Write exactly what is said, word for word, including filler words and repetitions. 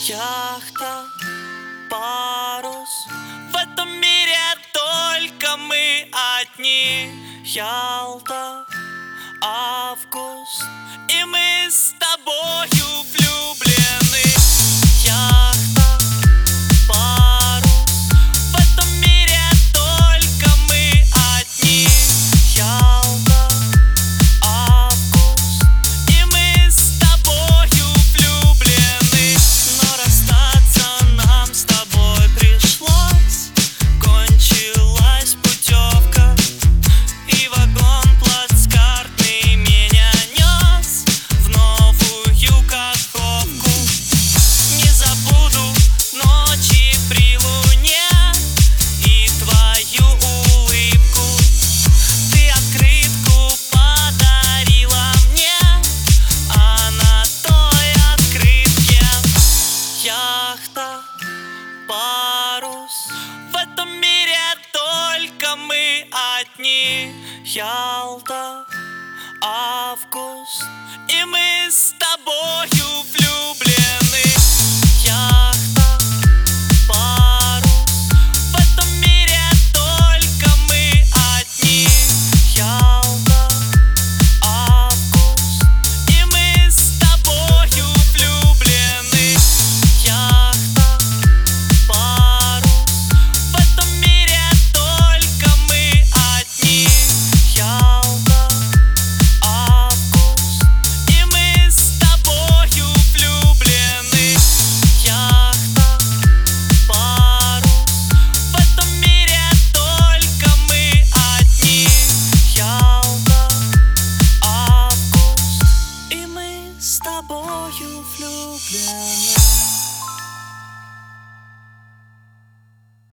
Яхта, парус, в этом мире только мы одни. Ялта, август, и мы с тобою влюблены. Яхта, парус, в этом мире только мы одни. Ялта, август, и мы с тобою влюблены. Но расстаться нам с тобой пришлось. Кончилась путевка, и вагон плацкартный меня нес в новую Каховку. Не забуду ночи при луне и твою улыбку. Ты открытку подарила мне, а на той открытке яхта, парус, в этом мире только мы одни. Ялта, август, и мы с тобою